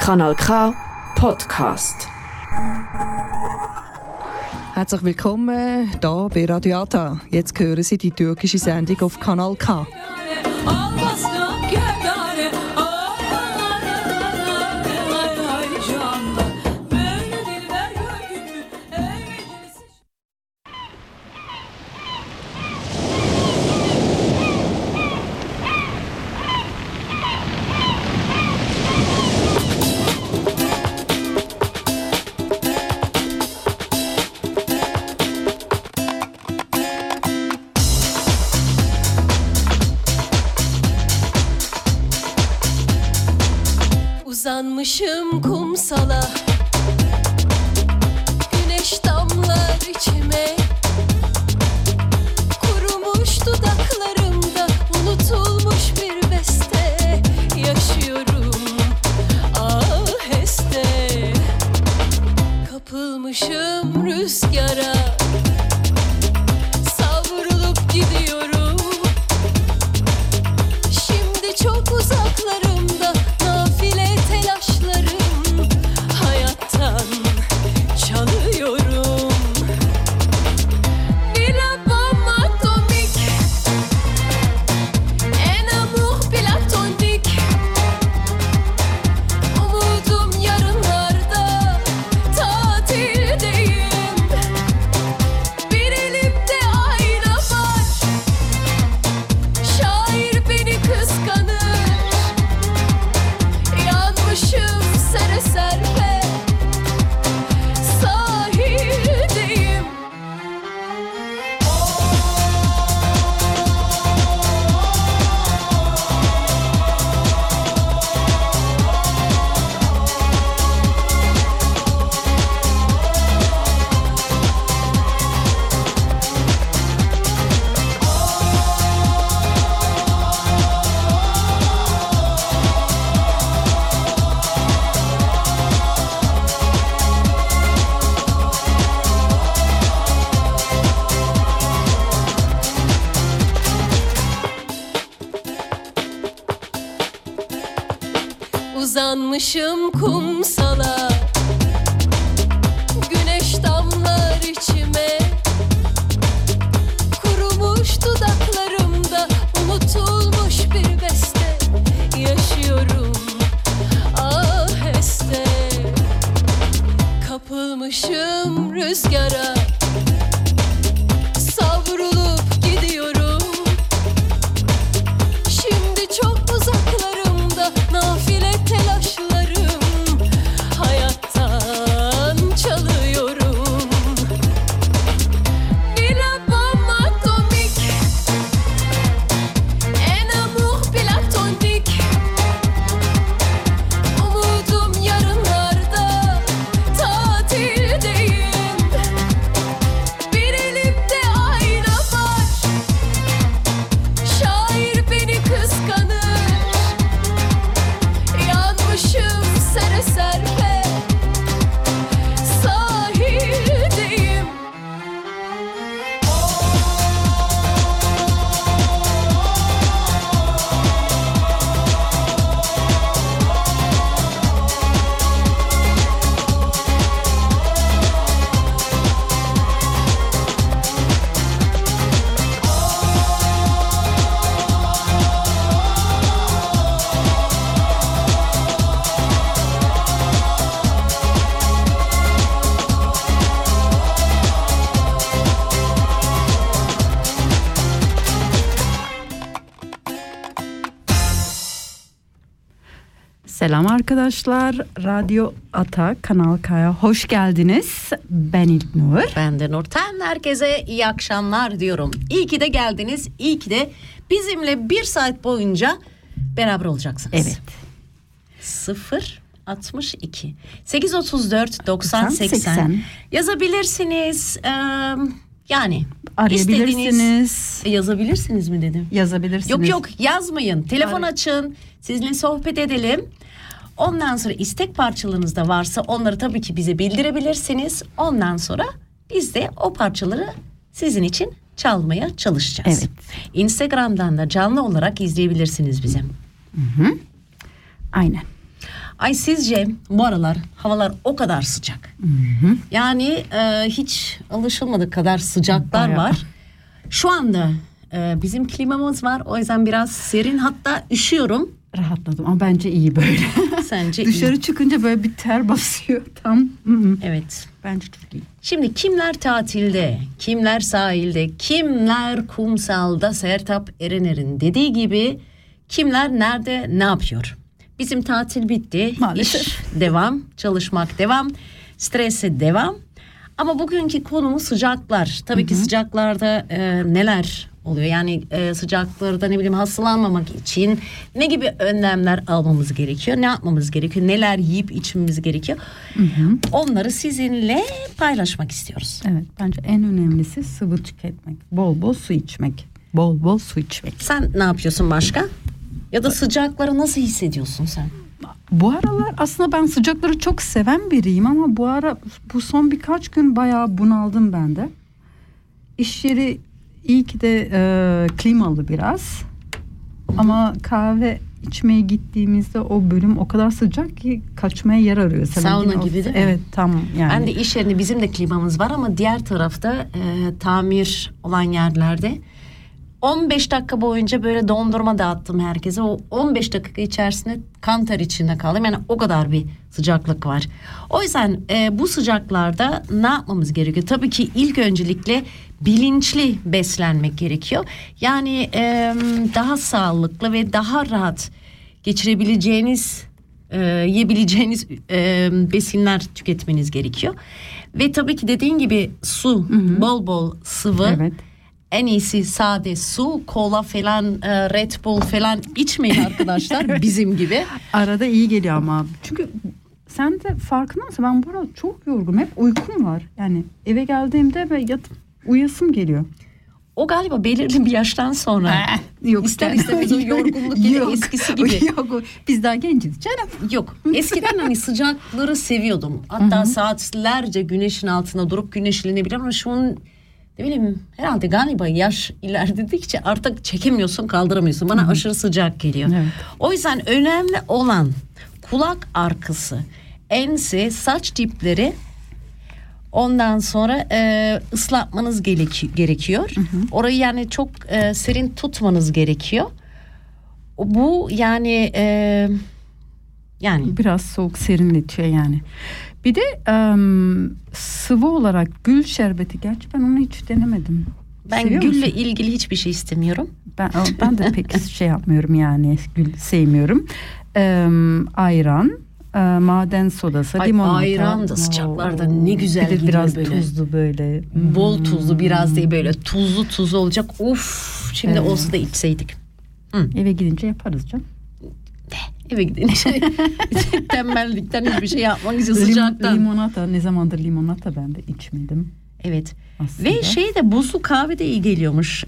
Kanal K Podcast. Herzlich willkommen hier bei Radio Ata. Jetzt hören Sie die türkische Sendung auf Kanal K. Uzanmışım kumsala, güneş damlar içime, kurumuş dudaklarımda unutulmuş bir beste, yaşıyorum aheste, kapılmışım rüzgara, savrulup gidiyorum, şimdi çok uzaklarımda. Telaşlarım hayattan çalıyorum. Bir abam atomik, en amour platonik. Umudum yarınlarda, tatildeyim. Bir elimde ayna var, şair beni kıskanır. Yanmışım sere serpe, sahildeyim. Uzanmışım kumsala, güneş damlar içime, kurumuş dudaklarımda unutulmuş bir beste, yaşıyorum aheste, kapılmışım rüzgara, savrulup gidiyorum, şimdi çok uzaklarımda nafile telaşlarım hayattan çalıyorum. Bir abam atomik, en amour platonik. Umudum yarınlarda, tatildeyim. Bir elimde ayna var, şair beni kıskanır. Yanmışım sere serpe, sahildeyim. Selam arkadaşlar. Radyo Ata Kanal K'ya hoş geldiniz. Ben İlknur. Ben de Nurten. Herkese iyi akşamlar diyorum. İyi ki de geldiniz. İyi ki de bizimle bir saat boyunca beraber olacaksınız. Evet. 062 834 90 80 yazabilirsiniz. Yani arayabilirsiniz. Yazabilirsiniz mi dedim? Yazabilirsiniz. Yok yazmayın. Telefon açın. Sizinle sohbet edelim. Ondan sonra istek parçalarınız da varsa onları tabii ki bize bildirebilirsiniz. Ondan sonra biz de o parçaları sizin için çalmaya çalışacağız. Evet. Instagram'dan da canlı olarak izleyebilirsiniz bizi. Hı. Aynen. Ay sizce bu aralar havalar o kadar sıcak. Yani hiç alışılmadık kadar sıcaklar Bayağı. var. Şu anda bizim klimamız var. O yüzden biraz serin, hatta üşüyorum. Rahatladım ama bence iyi böyle. Sence Dışarı iyi? çıkınca böyle bir ter basıyor tam. Evet. Bence çok iyi. Şimdi kimler tatilde, kimler sahilde, kimler kumsalda, Sertab Erener'in dediği gibi kimler nerede ne yapıyor? Bizim tatil bitti. Maalesef. İş devam, çalışmak devam, strese devam. Ama bugünkü konumuz sıcaklar. Tabii ki sıcaklarda neler oluyor? Yani sıcaklarda ne bileyim hastalanmamak için ne gibi önlemler almamız gerekiyor? Ne yapmamız gerekiyor? Neler yiyip içmemiz gerekiyor? Onları sizinle paylaşmak istiyoruz. Evet, bence en önemlisi sıvı tüketmek. Bol bol su içmek. Bol bol su içmek. Sen ne yapıyorsun başka? Ya da sıcakları nasıl hissediyorsun sen? Bu aralar aslında ben sıcakları çok seven biriyim ama bu son birkaç gün bayağı bunaldım ben de. İş yeri iyi ki de klimalı biraz. Ama kahve içmeye gittiğimizde o bölüm o kadar sıcak ki kaçmaya yer arıyor. Sauna gibi değil mi? Evet, tam yani. Ben de iş yerinde bizim de klimamız var ama diğer tarafta tamir olan yerlerde 15 dakika boyunca böyle dondurma dağıttım herkese. O 15 dakika içerisinde kan ter içinde kaldım. Yani o kadar bir sıcaklık var. O yüzden bu sıcaklarda ne yapmamız gerekiyor? Tabii ki ilk öncelikle bilinçli beslenmek gerekiyor. Yani daha sağlıklı ve daha rahat geçirebileceğiniz, yiyebileceğiniz besinler tüketmeniz gerekiyor. Ve tabii ki dediğin gibi su, bol bol sıvı. Evet. En iyisi sade su, kola falan, Red Bull falan içmeyin arkadaşlar bizim gibi. Arada iyi geliyor ama. Çünkü sen de farkında mısın? Ben bu arada çok yorgunum. Hep uykum var. Yani eve geldiğimde ve yatıp uyasım geliyor. O galiba belirli bir yaştan sonra Yok. ister istemez o yorgunluk yine Yok. eskisi gibi. Yok. Biz daha genciz canım. Yok. Eskiden hani sıcakları seviyordum. Hatta saatlerce güneşin altında durup güneşlenebilirim ama şu an ne bileyim herhalde galiba yaş ilerledikçe artık çekemiyorsun, kaldıramıyorsun. Bana aşırı sıcak geliyor. Evet. O yüzden önemli olan kulak arkası, ense, saç dipleri, ondan sonra ıslatmanız gerekiyor. Orayı yani çok serin tutmanız gerekiyor. Bu yani Biraz soğuk serinletiyor yani. Bir de sıvı olarak gül şerbeti. Gerçi ben onu hiç denemedim. ben Seviyor gülle musun? ilgili hiçbir şey istemiyorum. Ben de pek şey yapmıyorum yani, gül sevmiyorum. Ayran, maden sodası, limonata. Ayran da sıcaklarda ne güzel bir de gidiyor biraz böyle. tuzlu böyle. Bol tuzlu, biraz değil böyle tuzlu olacak. Of, şimdi Evet. olsa da içseydik. Eve gidince yaparız canım. Eve gidince tembellikten hiçbir şey yapmak için sıcaktan. Limonata, ne zamandır limonata ben de içmedim Evet. aslında. Ve şey de buzlu kahve de iyi geliyormuş.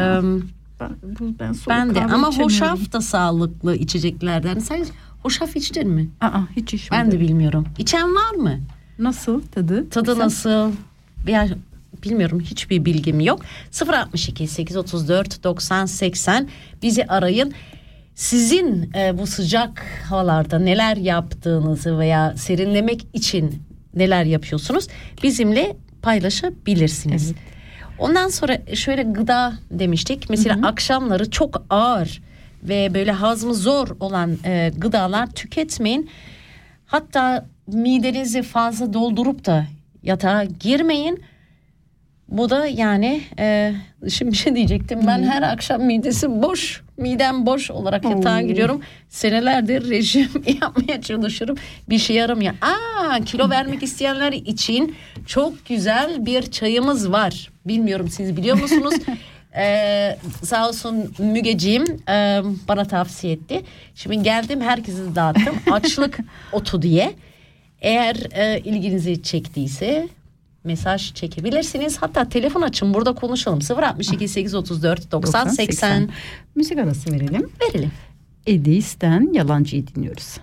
Ben soğuk Ben de kahve ama içemiyorum. hoşaf da sağlıklı içeceklerden. Sen hoşaf içtin mi? Hiç içmedim. Ben de bilmiyorum. İçen var mı? Nasıl tadı? Tadı Sen- nasıl? Veya bilmiyorum, hiçbir bilgim yok. 062 834 90 80 bizi arayın. Sizin bu sıcak havalarda neler yaptığınızı veya serinlemek için neler yapıyorsunuz bizimle paylaşabilirsiniz. Evet. Ondan sonra şöyle gıda demiştik. Mesela akşamları çok ağır ve böyle hazmı zor olan gıdalar tüketmeyin. Hatta midenizi fazla doldurup da yatağa girmeyin. Bu da yani şimdi bir şey diyecektim. Ben her akşam midem boş olarak yatağa giriyorum. Senelerdir rejim yapmaya çalışıyorum. Bir şey yaramıyor. Kilo vermek isteyenler için çok güzel bir çayımız var. Bilmiyorum, siz biliyor musunuz? Sağ olsun Mügeciğim bana tavsiye etti. Şimdi geldim, herkese dağıttım. Açlık otu diye. Eğer ilginizi çektiyse mesaj çekebilirsiniz. Hatta telefon açın, burada konuşalım. 062 834 90 80. Müzik arası verelim. Verelim. Edis'ten Yalancı'yı dinliyoruz.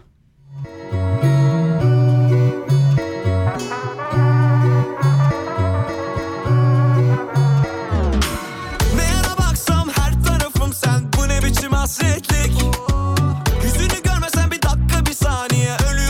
Nereye baksam her tarafım sen, bu ne biçim hasretlik. Yüzünü görmesen bir dakika bir saniye ölüyorum.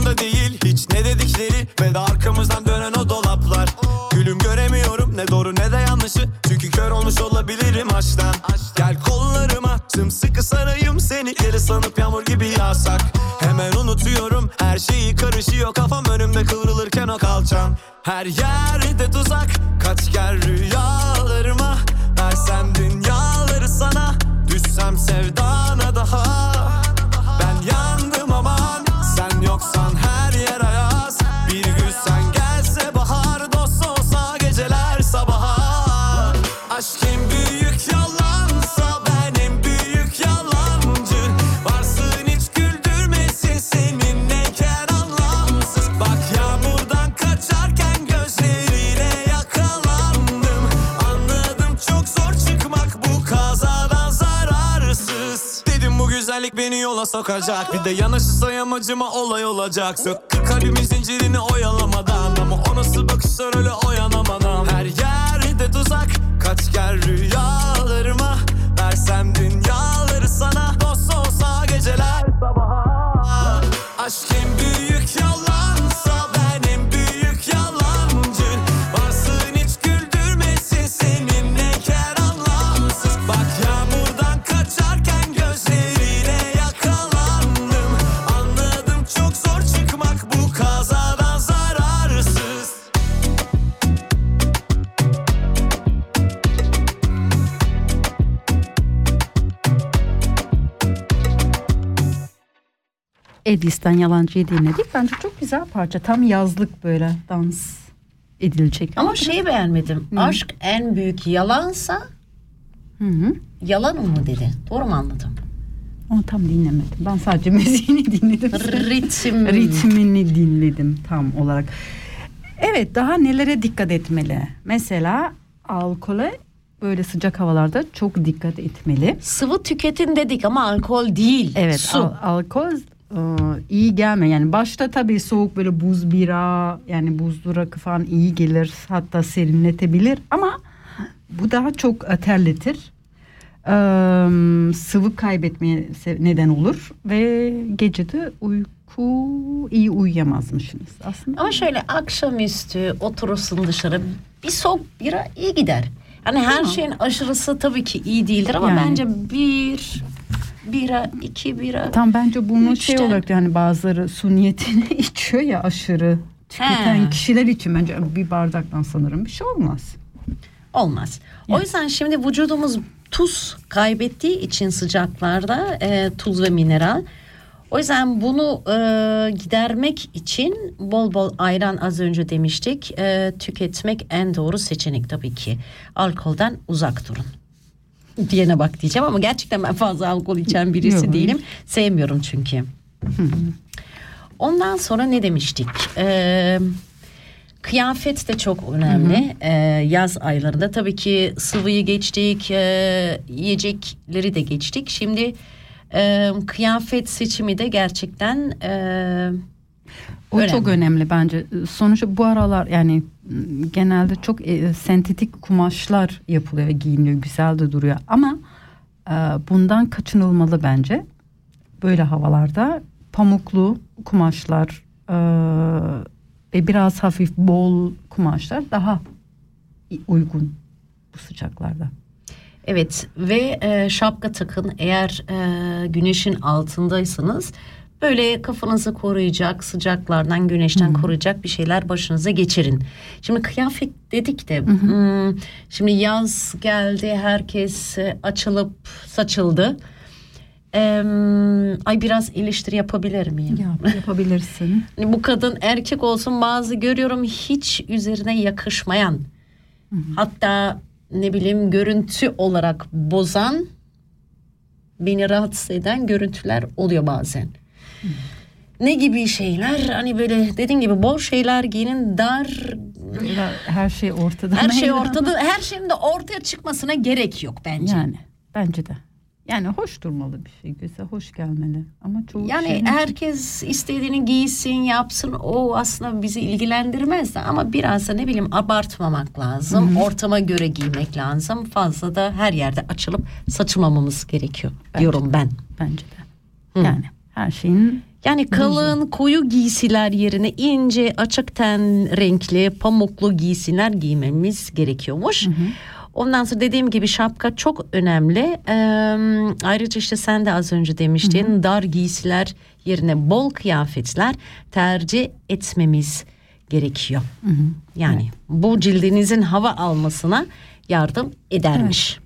umurumda değil hiç ne dedikleri ve de arkamızdan dönen o dolaplar. Gülüm göremiyorum ne doğru ne de yanlışı, çünkü kör olmuş olabilirim aşktan. Gel kollarıma sımsıkı sarayım seni, deli sanıp yağmur gibi yağsak. Hemen unutuyorum her şeyi, karışıyor kafam önümde kıvrılırken o kalçam. Her yerde tuzak, kaç gel rüyalarıma. Versem dünyaları sana, düşsem sevdana daha. Ben yandım aman, sen yoksan her yer ayaz. Bir gün sen gelse bahar, dost olsa geceler sabaha. Aşk en büyük yalansa ben en büyük yalancı. Varsın hiç güldürmesin seninleyken anlamsız. Bak yağmurdan kaçarken gözlerine yakalandım. Anladım çok zor çıkmak bu kazadan zararsız. Dedim bu güzellik beni yola sokacak, bir de yanaşırsa yamacıma olay olacak. Söktü kalbimin zincirini oyalamadan, ama o nasıl bakışlar öyle oyanamadan. Her yerde tuzak, kaç gel rüyalarıma. Versem dünyaları sana, dost olsa geceler sabaha. Aşk en büyük yalansa ben en büyük yalancı. Varsın hiç güldürmesin seninleyken anlamsız. Bak yağmurdan kaçarken gözlerine yakalandım. Anladım çok zor çıkmak bu kazadan zararsız. Edis'ten Yalancı'yı dinledik. Bence çok güzel parça. Tam yazlık böyle dans edilecek. Ama şeyi beğenmedim. Aşk en büyük yalansa yalan mı dedi? Doğru mu anladım? Onu tam dinlemedim. Ben sadece müziğini dinledim. Ritmini dinledim tam olarak. Evet, daha nelere dikkat etmeli? Mesela alkole böyle sıcak havalarda çok dikkat etmeli. Sıvı tüketin dedik ama alkol değil. Evet, su. alkol iyi gelme. Yani başta tabii soğuk böyle buz bira, yani buzlu rakı falan iyi gelir. Hatta serinletebilir ama bu daha çok terletir. Sıvı kaybetmeye neden olur ve gecede iyi uyuyamazmışsınız aslında. Ama şöyle akşamüstü oturursun dışarı, bir soğuk bira iyi gider. Yani her şeyin aşırısı tabii ki iyi değildir ama Yani. bence bir bira, 2 bira. Tam bence bunu 3'ten. şey olarak, yani bazıları su niyetine içiyor ya, aşırı tüketen kişiler için bence bir bardaktan sanırım bir şey olmaz. Olmaz. O yüzden şimdi vücudumuz tuz kaybettiği için sıcaklarda tuz ve mineral. O yüzden bunu gidermek için bol bol ayran, az önce demiştik, tüketmek en doğru seçenek tabii ki. Alkolden uzak durun. Diyene bak diyeceğim ama gerçekten ben fazla alkol içen birisi değilim. Sevmiyorum çünkü. Ondan sonra ne demiştik? Kıyafet de çok önemli. Yaz aylarında tabii ki sıvıyı geçtik, yiyecekleri de geçtik. Şimdi kıyafet seçimi de gerçekten o önemli. Çok önemli bence. Sonuçta bu aralar yani genelde çok sentetik kumaşlar yapılıyor ve giyiniyor, güzel de duruyor. Ama bundan kaçınılmalı bence. Böyle havalarda pamuklu kumaşlar ve biraz hafif bol kumaşlar daha uygun bu sıcaklarda. Evet ve şapka takın eğer güneşin altındaysanız, böyle kafanızı koruyacak, sıcaklardan, güneşten koruyacak bir şeyler başınıza geçirin. Şimdi kıyafet dedik de şimdi yaz geldi, herkes açılıp saçıldı. Ay biraz eleştiri yapabilir miyim? Yapabilirsin. Bu kadın erkek olsun, bazı görüyorum hiç üzerine yakışmayan, hatta ne bileyim görüntü olarak bozan, beni rahatsız eden görüntüler oluyor bazen. Ne gibi şeyler? Hani böyle dediğin gibi bol şeyler giyinin, dar. Her şey ortada. Her şey ortada. Her şeyin de ortaya çıkmasına gerek yok bence. Yani bence de. Yani hoş durmalı bir şey, göze hoş gelmeli. Ama çoğu yani herkes istediğini giysin, yapsın. O aslında bizi ilgilendirmez de, ama biraz da ne bileyim abartmamak lazım. Ortama göre giymek lazım. Fazla da her yerde açılıp saçmamamız gerekiyor diyorum ben. Bence de. Yani her şeyin Yani kalın koyu giysiler yerine ince açık ten renkli pamuklu giysiler giymemiz gerekiyormuş. Ondan sonra dediğim gibi şapka çok önemli. Ayrıca işte sen de az önce demiştin, dar giysiler yerine bol kıyafetler tercih etmemiz gerekiyor. Yani bu cildinizin hava almasına yardım edermiş.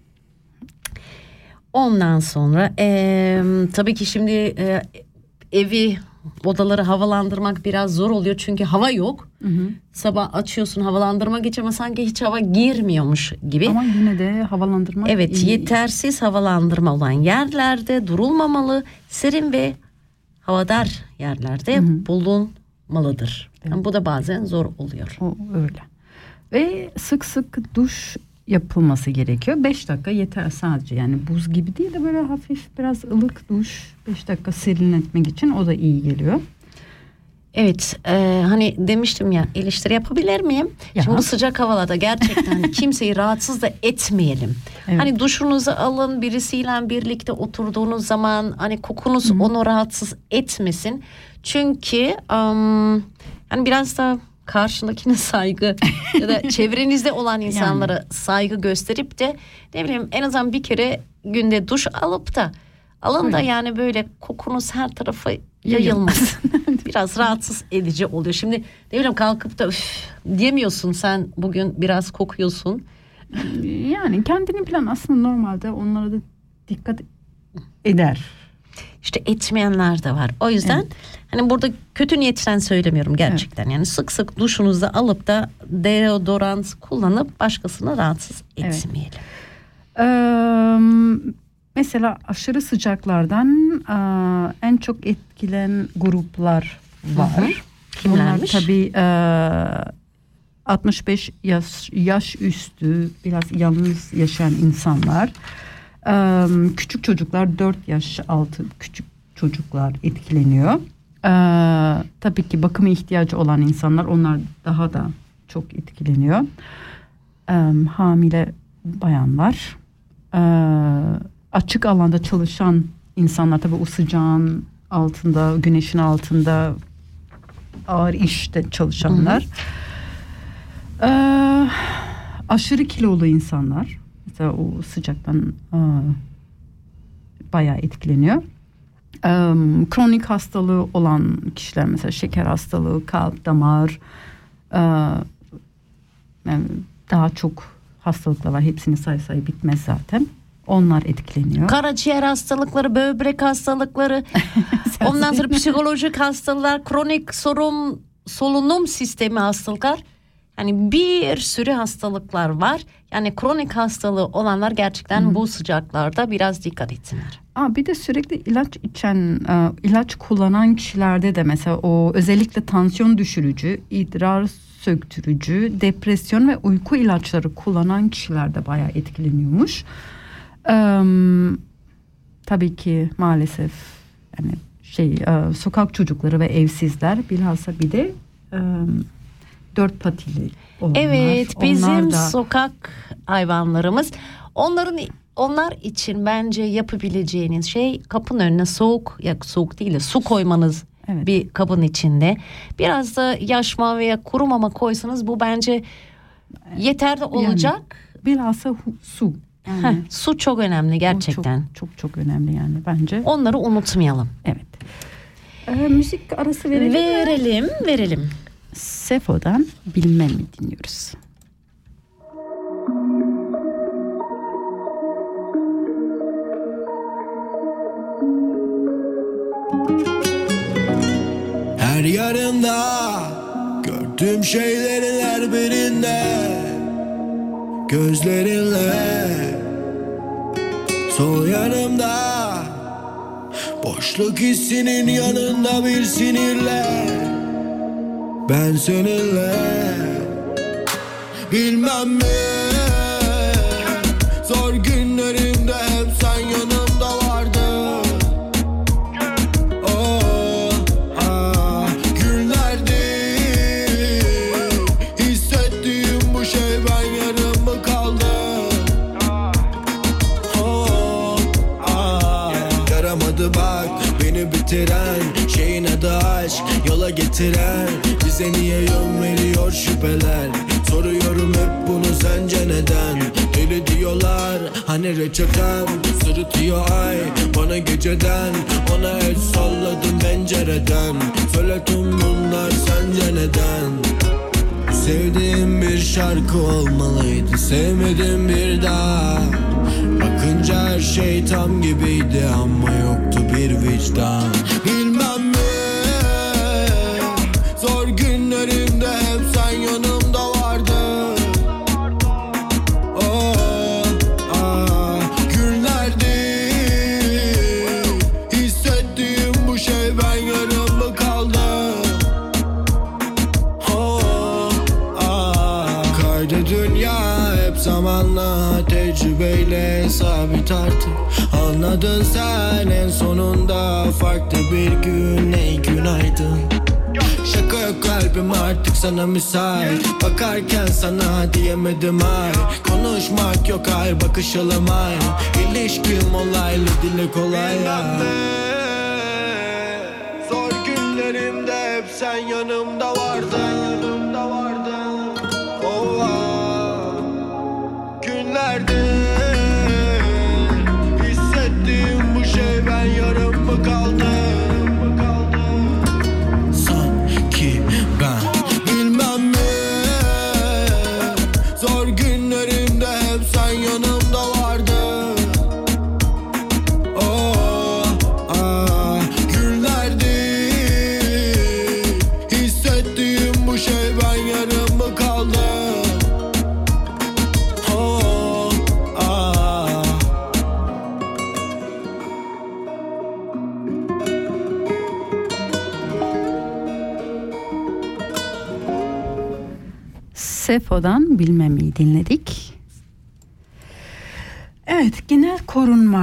Ondan sonra tabii ki şimdi evi, odaları havalandırmak biraz zor oluyor çünkü hava yok. Sabah açıyorsun havalandırmak için ama sanki hiç hava girmiyormuş gibi. Ama yine de havalandırma Evet, iyi. yetersiz havalandırma olan yerlerde durulmamalı, serin ve havadar yerlerde bulunmalıdır. Yani bu da bazen zor oluyor. O öyle. Ve sık sık duş yapılması gerekiyor. 5 dakika yeter sadece, yani buz gibi değil de böyle hafif biraz ılık duş 5 dakika serinletmek için, o da iyi geliyor. Evet, hani demiştim ya, eleştiri yapabilir miyim? Ya. Şimdi bu sıcak havalarda gerçekten kimseyi rahatsız da etmeyelim. Evet. Hani duşunuzu alın, birisiyle birlikte oturduğunuz zaman hani kokunuz onu rahatsız etmesin. Çünkü hani biraz da karşındakine saygı ya da çevrenizde olan insanlara saygı gösterip de ne bileyim en azından bir kere günde duş alıp da alın da yani böyle kokunuz her tarafa yayılmaz. Biraz rahatsız edici oluyor. Şimdi ne bileyim kalkıp da diyemiyorsun, sen bugün biraz kokuyorsun. Yani kendini plan aslında normalde onlara da dikkat eder. İşte etmeyenler de var. O yüzden hani burada kötü niyetten söylemiyorum gerçekten. Yani sık sık duşunuzda alıp da deodorant kullanıp başkasını rahatsız etmeyelim. Mesela aşırı sıcaklardan en çok etkilen gruplar var. Kimlermiş? Bunlar tabii 65 yaş üstü, biraz yalnız yaşayan insanlar. Küçük çocuklar, 4 yaş altı küçük çocuklar etkileniyor. Tabii ki bakıma ihtiyacı olan insanlar, onlar daha da çok etkileniyor. Hamile bayanlar, açık alanda çalışan insanlar, tabii o sıcağın altında, güneşin altında ağır işte çalışanlar. Aşırı kilolu insanlar mesela o sıcaktan bayağı etkileniyor. Kronik hastalığı olan kişiler, mesela şeker hastalığı, kalp, damar, yani daha çok hastalıklar var. Hepsini say bitmez zaten. Onlar etkileniyor. Karaciğer hastalıkları, böbrek hastalıkları, ondan sonra psikolojik hastalıklar, kronik solunum sistemi hastalıklar. Yani bir sürü hastalıklar var. Yani kronik hastalığı olanlar gerçekten bu sıcaklarda biraz dikkat etsinler. Bir de sürekli ilaç içen, ilaç kullanan kişilerde de mesela o özellikle tansiyon düşürücü, idrar söktürücü, depresyon ve uyku ilaçları kullanan kişiler de bayağı etkileniyormuş. Tabii ki maalesef yani sokak çocukları ve evsizler, bilhassa bir de 4 patili olanlar. Evet, bizim onlar da sokak hayvanlarımız. Onlar için bence yapabileceğiniz şey kapının önüne soğuk değil de su koymanız. Evet. Bir kabın içinde. Biraz da yaş mama veya kuru mama koysanız bu bence yeterli olacak. Yani, bilhassa su. Yani, su çok önemli gerçekten. Çok önemli yani bence. Onları unutmayalım. Evet. Müzik arası verelim mi? Verelim. Sefo'dan Bilmem mi dinliyoruz. Her yarında gördüğüm şeylerin her birinde gözlerinle, sol yanımda boşluk hissinin yanında bir sinirle, ben seninle bilmem mi, zor günlerimde hep sen yanımda vardın. Bak beni bitiren şeyin aşk yola getiren, bize niye yön veriyor şüpheler. Soruyorum hep bunu sence neden? Deli diyorlar hani reçetem, sırıtıyor ay bana geceden. Ona el salladım pencereden, söyle tüm bunlar sence neden? Sevdiğim bir şarkı olmalıydı, sevmedim bir daha. Bakınca her şey tam gibiydi ama yoktu bir vicdan. Bilmem mi, zor günlerimde hep sen yanımda vardın. Oh, ah, günlerdi hissettiğim bu şey, ben yarım mı kaldım? Oh, ah, kaydı dünya hep zamanla, tecrübeyle sabit artık. Anladın sen en sonunda, farklı bir gün, ey günaydın. Şaka yok kalbim artık sana müsait, bakarken sana diyemedim ay. Konuşmak yok ay, bakışalım ay. İlişkim olaylı, dile kolay ya. Zor günlerimde hep sen yanımda vardın. Oh, ah, günlerde hissettiğim bu şey, ben yarım mı kaldım? Sanki ben bilmem ne, zor günlerimde hep sen yanımda vardın. Oh, ah, günlerdi hissettiğim bu şey, ben yarım mı kaldım? Oh, ah. Sefo'dan Bilmem'i dinledik. Evet, genel korunma.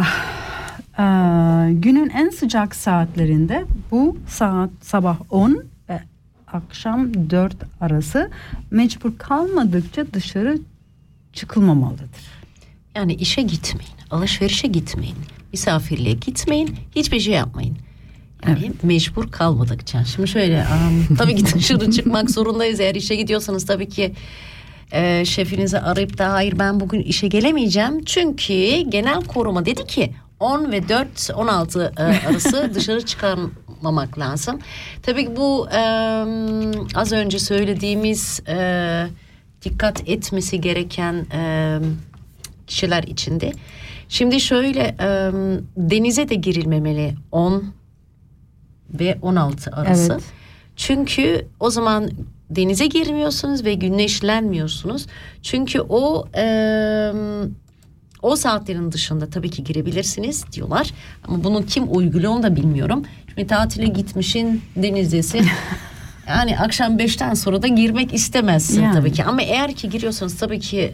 Günün en sıcak saatlerinde bu saat sabah 10 ve akşam 4 arası, mecbur kalmadıkça dışarı çıkılmamalıdır. Yani işe gitmeyin, alışverişe gitmeyin, misafirliğe gitmeyin, hiçbir şey yapmayın. Yani mecbur kalmadıkça. Şimdi şöyle, tabii ki dışarı çıkmak zorundayız. Eğer işe gidiyorsanız tabii ki şefinizi arayıp da hayır ben bugün işe gelemeyeceğim. Çünkü genel koruma dedi ki 10 ve 4-16 arası dışarı çıkarmamak lazım. Tabii ki bu az önce söylediğimiz dikkat etmesi gereken kişiler içinde. Şimdi şöyle, denize de girilmemeli 10 ve 16 arası. Evet. Çünkü o zaman denize girmiyorsunuz ve güneşlenmiyorsunuz. Çünkü o saatlerin dışında tabii ki girebilirsiniz diyorlar. Ama bunu kim uyguluyor onu da bilmiyorum. Şimdi tatile gitmişsin, denizdesin. Yani akşam 5'ten sonra da girmek istemezsin yani. Tabii ki. Ama eğer ki giriyorsanız tabii ki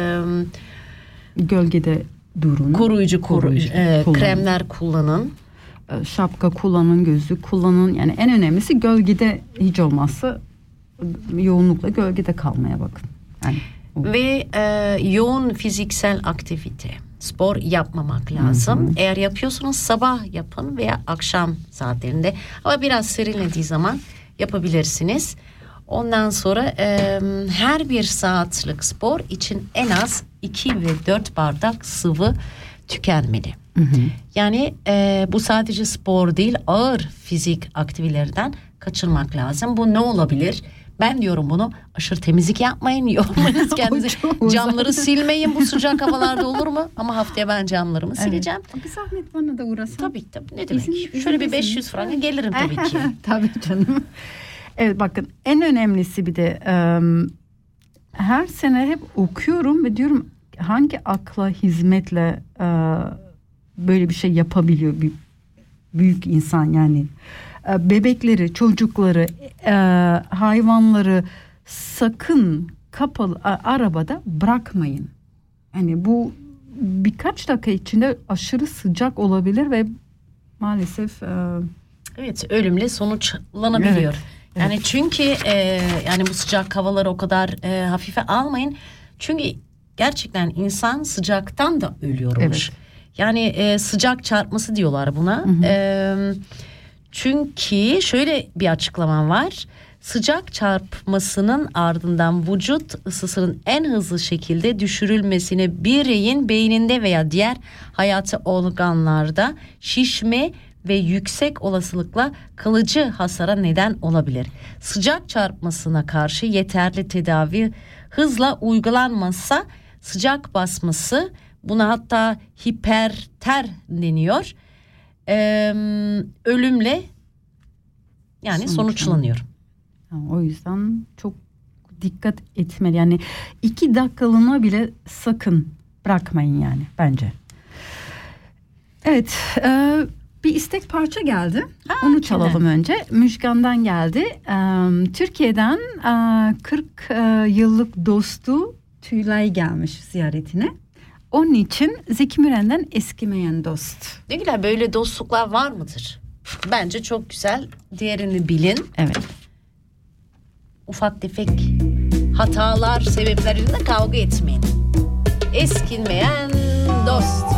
Gölgede durun. koruyucu kullanın. kremler kullanın. Şapka kullanın, gözlük kullanın. Yani en önemlisi gölgede, hiç olmazsa yoğunlukla gölgede kalmaya bakın. Yani Ve yoğun fiziksel aktivite, spor yapmamak lazım. Eğer yapıyorsanız sabah yapın veya akşam saatlerinde. Ama biraz serinlediği zaman yapabilirsiniz. Ondan sonra her bir saatlik spor için en az 2 ve 4 bardak sıvı tükenmeli. Yani bu sadece spor değil, ağır fizik aktivitelerden kaçınmak lazım. Bu ne olabilir? Ben diyorum bunu, aşırı temizlik yapmayın, yormayınız kendinizi. Camları silmeyin bu sıcak havalarda, olur mu? Ama haftaya ben camlarımı sileceğim. bir zahmet bana da uğrasın. Tabii ne demek? Şöyle bir 500 franka gelirim tabii ki. Tabii canım. Evet, bakın en önemlisi bir de her sene hep okuyorum ve diyorum hangi akla hizmetle böyle bir şey yapabiliyor bir büyük insan, yani bebekleri, çocukları, hayvanları sakın kapalı arabada bırakmayın. Yani bu birkaç dakika içinde aşırı sıcak olabilir ve maalesef evet, ölümle sonuçlanabiliyor. Evet. Yani çünkü yani bu sıcak havaları o kadar hafife almayın. Çünkü gerçekten insan sıcaktan da ölüyormuş. Evet. Yani sıcak çarpması diyorlar buna. Çünkü şöyle bir açıklamam var. Sıcak çarpmasının ardından vücut ısısının en hızlı şekilde düşürülmesine bireyin beyninde veya diğer hayati organlarda şişme ve yüksek olasılıkla kalıcı hasara neden olabilir. Sıcak çarpmasına karşı yeterli tedavi hızla uygulanmazsa sıcak basması, buna hatta hiperter deniyor, ölümle yani sonuçlanıyor. O yüzden çok dikkat etmeli. Yani 2 dakikalığına bile sakın bırakmayın yani bence. Evet, bir istek parça geldi. Onu çalalım önce. Müjgan'dan geldi. Türkiye'den 40 yıllık dostu Tülay gelmiş ziyaretine. Onun için Zeki Müren'den Eskimeyen Dost. Ne güzel, böyle dostluklar var mıdır? Bence çok güzel. Diğerini bilin. Evet. Ufak tefek hatalar sebepleriyle kavga etmeyin. Eskimeyen dost.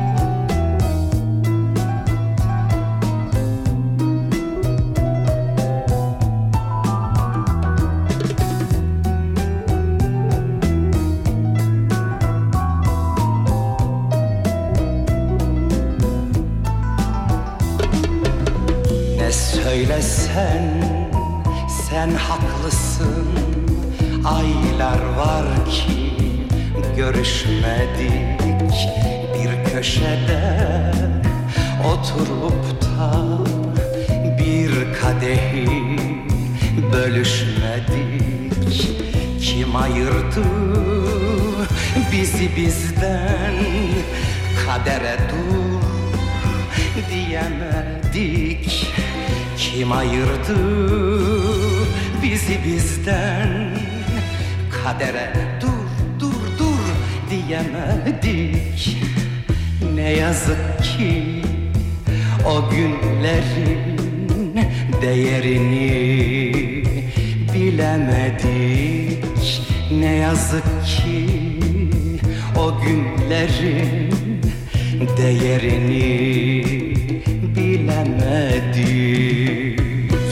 Ne söylesen sen haklısın. Aylar var ki görüşmedik. Bir köşede oturup da bir kadehi bölüşmedik. Kim ayırdı bizi bizden? Kadere dur diyemedik. Kim ayırdı bizi bizden? Kadere dur diyemedik. Ne yazık ki o günlerin değerini bilemedik. Ne yazık ki o günlerin değerini bilemedik.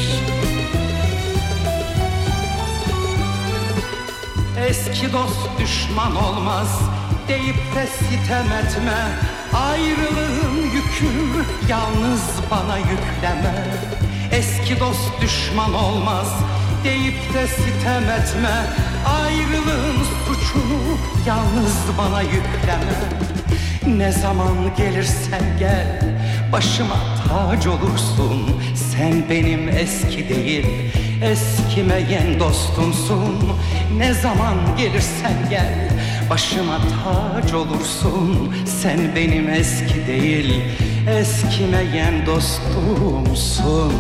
Eski dost düşman olmaz deyip de sitem etme. Ayrılığın yükünü yalnız bana yükleme. Eski dost düşman olmaz deyip de sitem etme. Ayrılığın suçunu yalnız bana yükleme. Ne zaman gelirsen gel başıma tac olursun. Sen benim eski değil eskimeyen dostumsun. Ne zaman gelirsen gel başıma tac olursun. Sen benim eski değil eskimeyen dostumsun.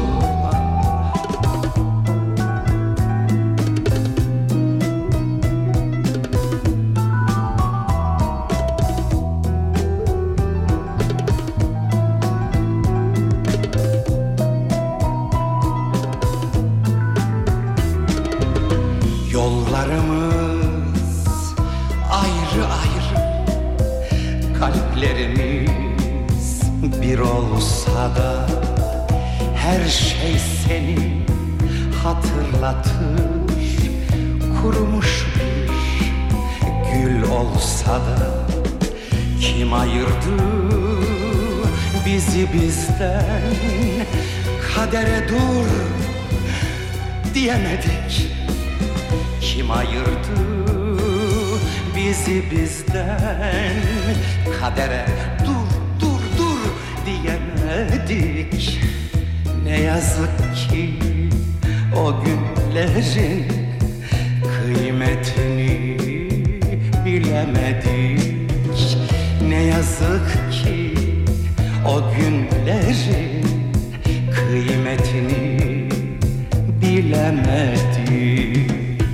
Yollarımız ayrı ayrı, kalplerimiz bir olsa da her şey seni hatırlatır. Kurumuş bir gül olsa da kim ayırdı bizi bizden? Kadere dur diyemedik. Kim ayırdı bizi bizden? Kadere dur diyemedik. Ne yazık ki o günlerin kıymetini bilemedik. Ne yazık ki o günlerin kıymetini bilemedik.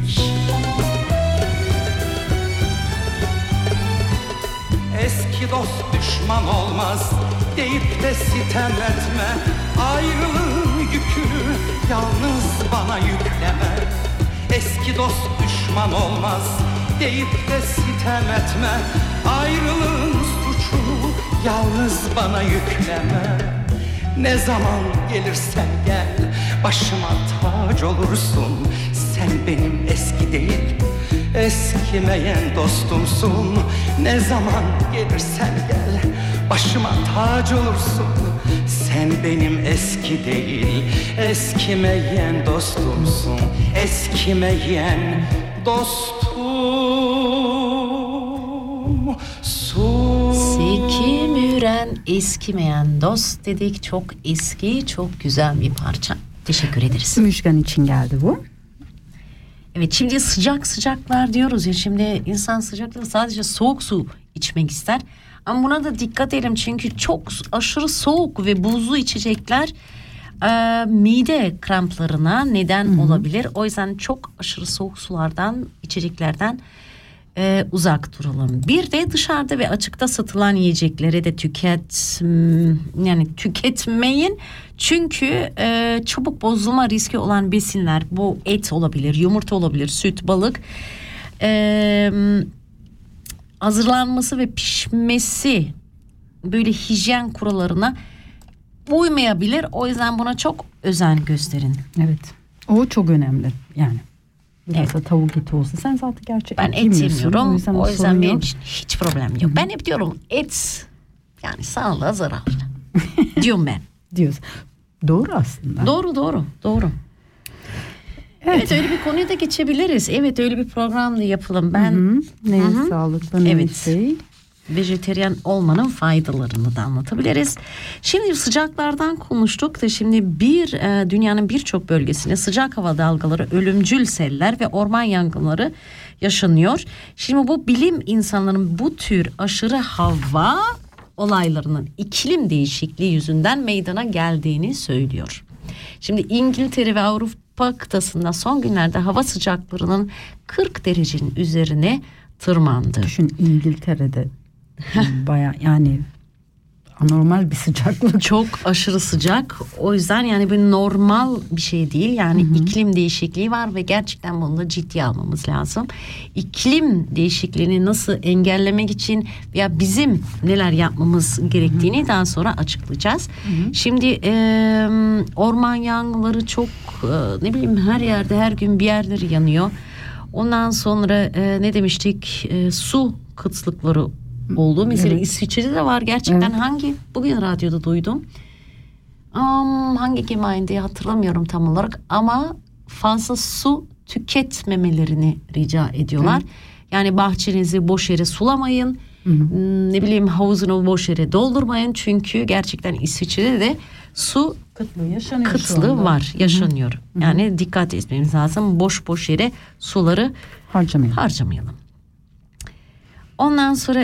Eski dost düşman olmaz deyip de sitem etme. Ayrılığın yükünü yalnız bana yükleme. Eski dost düşman olmaz deyip de sitem etme. Ayrılığın suçunu yalnız bana yükleme. Ne zaman gelirsen gel, başıma tac olursun. Sen benim eski değil, eskimeyen dostumsun. Ne zaman gelirsen gel, başıma tac olursun. Sen benim eski değil, eskimeyen dostumsun. Eskimeyen dostumsun. Zeki Müren, eskimeyen dost dedik. Çok eski, çok güzel bir parça. Teşekkür ederiz. Müjgan için geldi bu. Evet, şimdi sıcaklar diyoruz ya, şimdi insan sıcaklığı sadece soğuk su içmek ister. Ama buna da dikkat edelim çünkü çok aşırı soğuk ve buzlu içecekler mide kramplarına neden olabilir. O yüzden çok aşırı soğuk sulardan, içeceklerden uzak duralım. Bir de dışarıda ve açıkta satılan yiyecekleri de tüketmeyin. Çünkü çabuk bozulma riski olan besinler, bu et olabilir, yumurta olabilir, süt, balık, hazırlanması ve pişmesi böyle hijyen kurallarına uymayabilir. O yüzden buna çok özen gösterin. Evet. O çok önemli yani. Biraz da tavuk eti olsa. Sen zaten gerçekten ben et yemiyorum. O yüzden benim yok. için hiç problem yok. Ben hep diyorum et yani sağlığa zararlı. Diyorum ben. Diyoruz. Doğru aslında. Doğru. Evet, öyle bir konuya da geçebiliriz. Evet, öyle bir program da yapalım. Ben ne sağlıklı ne şey. Vejeteryan olmanın faydalarını da anlatabiliriz. Şimdi sıcaklardan konuştuk da şimdi dünyanın birçok bölgesinde sıcak hava dalgaları, ölümcül seller ve orman yangınları yaşanıyor. Şimdi bu bilim insanlarının bu tür aşırı hava olaylarının iklim değişikliği yüzünden meydana geldiğini söylüyor. Şimdi İngiltere ve Avrupa kıtasında son günlerde hava sıcaklarının 40 derecenin üzerine tırmandı. Düşün, İngiltere'de baya yani anormal bir sıcaklık. Çok aşırı sıcak. O yüzden yani bir normal bir şey değil. Yani iklim değişikliği var ve gerçekten bunu da ciddiye almamız lazım. İklim değişikliğini nasıl engellemek için veya bizim neler yapmamız gerektiğini daha sonra açıklayacağız. Şimdi orman yangınları çok her yerde her gün bir yerleri yanıyor. Ondan sonra ne demiştik? Su kıtlıkları oldu. Mesela İsviçre'de de var gerçekten. Bugün radyoda duydum. Hangi gemayinde hatırlamıyorum tam olarak ama fazla su tüketmemelerini rica ediyorlar. Yani bahçenizi boş yere sulamayın. Havuzunu boş yere doldurmayın. Çünkü gerçekten İsviçre'de de su kıtlığı var, yaşanıyor. Yani dikkat etmemiz lazım. Boş yere suları harcamayalım. Ondan sonra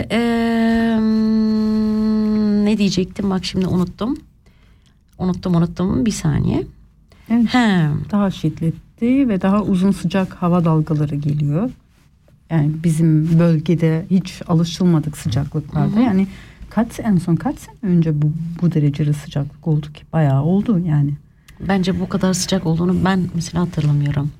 ne diyecektim? Bak şimdi unuttum. Bir saniye. Evet. Daha şiddetli ve daha uzun sıcak hava dalgaları geliyor. Yani bizim bölgede hiç alışılmadık sıcaklıklarda. Yani en son kaç sene önce bu derecede sıcaklık oldu ki? Bayağı oldu yani. Bence bu kadar sıcak olduğunu ben mesela hatırlamıyorum.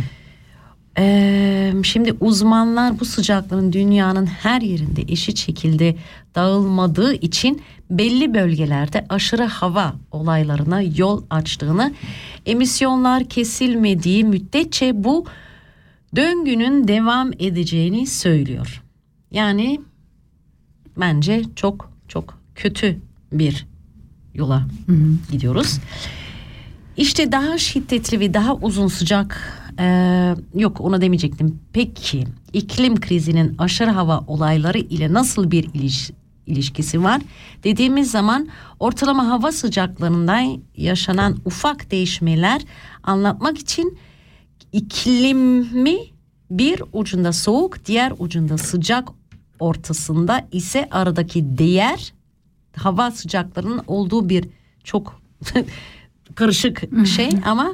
Şimdi uzmanlar bu sıcaklığın dünyanın her yerinde eşit şekilde dağılmadığı için belli bölgelerde aşırı hava olaylarına yol açtığını, emisyonlar kesilmediği müddetçe bu döngünün devam edeceğini söylüyor. Yani bence çok çok kötü bir yola gidiyoruz. İşte daha şiddetli ve daha uzun sıcak onu demeyecektim. Peki iklim krizinin aşırı hava olayları ile nasıl bir ilişkisi var? Dediğimiz zaman ortalama hava sıcaklarından yaşanan ufak değişmeler anlatmak için iklimi bir ucunda soğuk, diğer ucunda sıcak, ortasında ise aradaki değer hava sıcaklarının olduğu bir çok karışık şey ama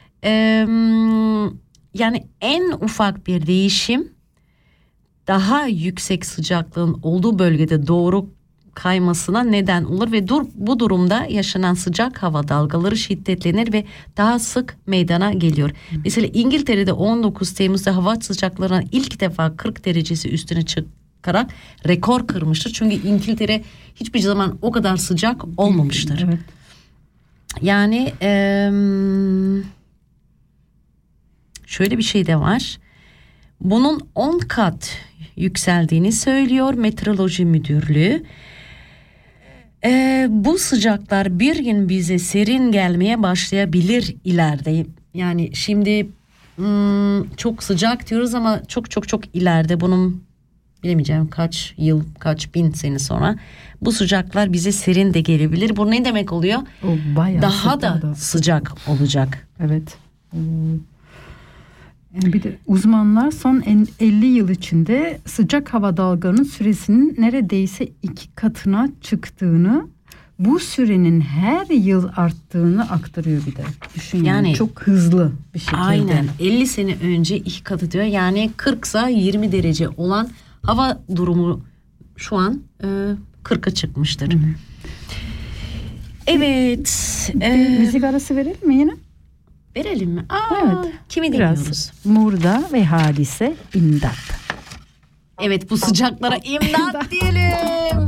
yani en ufak bir değişim daha yüksek sıcaklığın olduğu bölgede doğru kaymasına neden olur ve bu durumda yaşanan sıcak hava dalgaları şiddetlenir ve daha sık meydana geliyor. Mesela İngiltere'de 19 Temmuz'da hava sıcaklarının ilk defa 40 derecesi üstüne çıkarak rekor kırmıştır. Çünkü İngiltere hiçbir zaman o kadar sıcak olmamıştır. Evet. Yani şöyle bir şey de var. Bunun 10 kat yükseldiğini söylüyor Meteoroloji Müdürlüğü. Bu sıcaklar bir gün bize serin gelmeye başlayabilir ileride. Yani şimdi çok sıcak diyoruz ama çok ileride, bunun bilemeyeceğim kaç yıl, kaç bin sene sonra bu sıcaklar bize serin de gelebilir. Bu ne demek oluyor? O bayağı daha da sıcak olacak. Evet. Yani bir de uzmanlar son 50 yıl içinde sıcak hava dalgalarının süresinin neredeyse 2 katına çıktığını, bu sürenin her yıl arttığını aktarıyor bir de. Düşün yani çok hızlı bir şekilde. Aynen 50 sene önce 2 katı diyor. Yani 40'sa 20 derece olan hava durumu şu an 40'a çıkmıştır. Hı hı. Evet. Müzik arası verelim mi yine? Verelim mi? Evet. Kimi dinliyoruz? Murda ve Hadise, İmdat. Evet, bu sıcaklara imdat diyelim.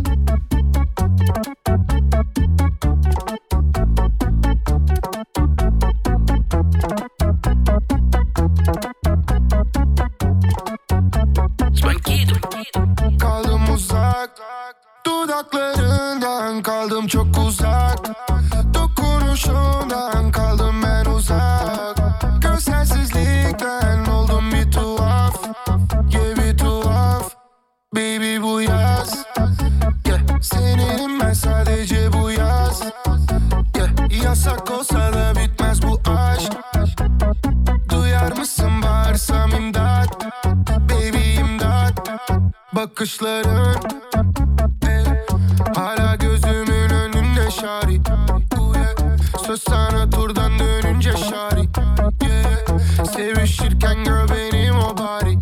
Kaldım uzak, dudaklarından kaldım çok uzak, dokunuşundan kaldım ben uzak, görselsizlikten oldum bir tuhaf, yeah bir tuhaf, baby bu yaz, yeah senin ben sadece bu yaz, yeah yasak olsa da bitmez bu aşk, duyar mısın bağırsam imdat, baby imdat, bakışların hala gözümün önünde şari, söz sana turdan dönünce şari, sevişirken gör benim o bari,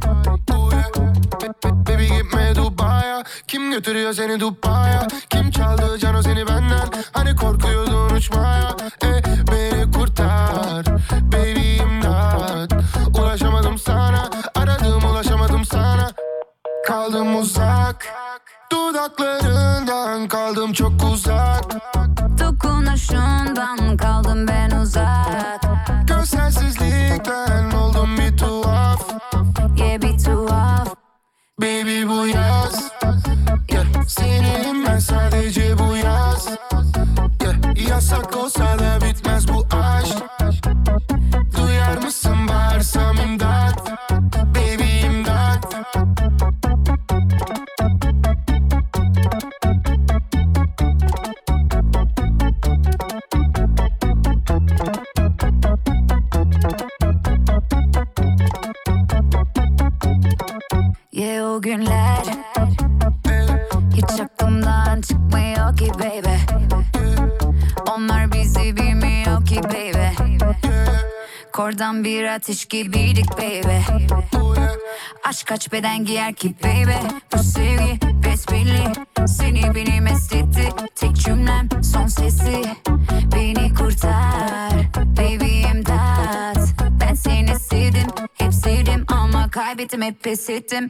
baby gitme Dubai'ya, kim götürüyor seni Dubai'ya, kim çaldı cano seni benden, hani korkuyordun uçmaya, beni kurtar baby imdat, ulaşamadım sana, aradım ulaşamadım sana, kaldım uzak, dudaklarından kaldım çok uzak, dokunuşundan kaldım ben uzak, görselsizlikten oldum bir tuhaf, yeah bir tuhaf, baby bu yaz, yeah senin ben sadece bu yaz, yeah yasak olsa da bitmez bu aşk, duyar mısın bağırsam imdat, baby imdat, yeah o günler hiç aklımdan çıkmıyor ki baby, onlar bizi bilmiyor ki baby, kordan bir ateş gibiydik baby, aşk kaç beden giyer ki baby, bu sevgi besbelli, seni beni mest etti, tek cümlem son sesi, beni kurtar baby imdat, ben seni sevdim, hep sevdim ama kaybettim, hep pes ettim.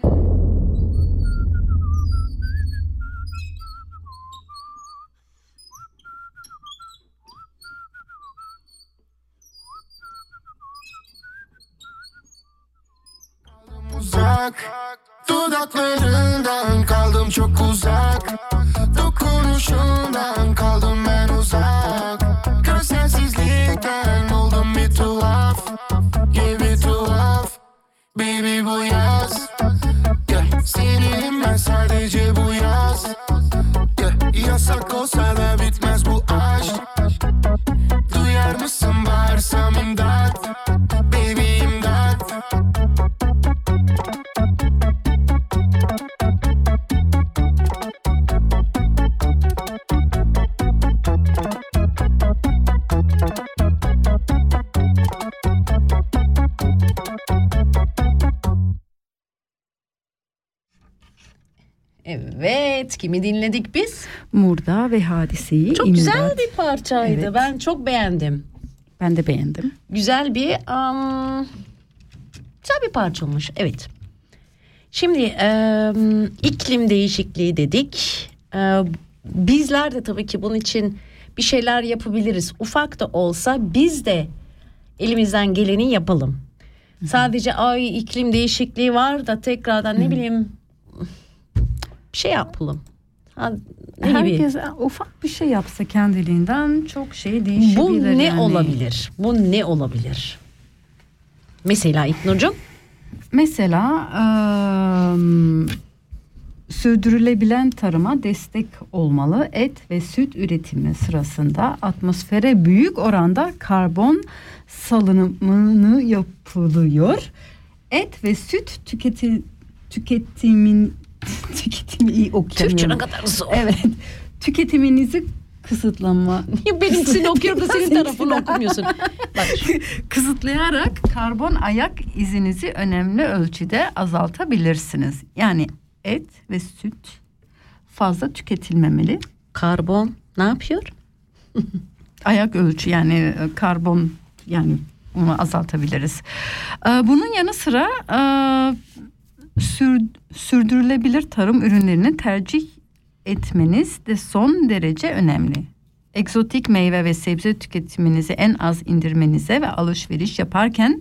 uzak, dudaklarından kaldım çok uzak, dokunuşundan kaldım ben uzak, görselsizlikten oldum bir tuhaf, yeah bir tuhaf, baby bu yaz, yeah senin ben sadece bu yaz, yeah yasak olsa da bitmez bu aşk, duyar mısın bağırsam imdat, baby imdat, Evet, kimi dinledik biz? Murda ve Hadise'yi. Çok İmdat. güzel bir parçaydı. Evet. Ben çok beğendim. Ben de beğendim. Güzel bir güzel bir parça olmuş. Evet. Şimdi iklim değişikliği dedik. Bizler de tabii ki bunun için bir şeyler yapabiliriz. Ufak da olsa biz de elimizden geleni yapalım. Sadece iklim değişikliği var da tekrardan ne bileyim bir şey yapalım. Herkes ufak bir şey yapsa kendiliğinden çok şey değişebilir. Bu ne yani. olabilir? Bu ne olabilir? Mesela İknur'cum? Mesela sürdürülebilen tarıma destek olmalı. Et ve süt üretimi sırasında atmosfere büyük oranda karbon salınımı yapılıyor. Et ve süt tüketimi iyi okuyamıyorum. Türkçe ne kadar zor. Evet. Tüketiminizi kısıtlama. Benimkini okuyorum da senin tarafını okumuyorsun. Bak. Kısıtlayarak karbon ayak izinizi önemli ölçüde azaltabilirsiniz. Yani et ve süt fazla tüketilmemeli. Karbon ne yapıyor? Ayak ölçü yani karbon yani onu azaltabiliriz. Bunun yanı sıra sürdürülebilir tarım ürünlerini tercih etmeniz de son derece önemli. Egzotik meyve ve sebze tüketiminizi en az indirmenize ve alışveriş yaparken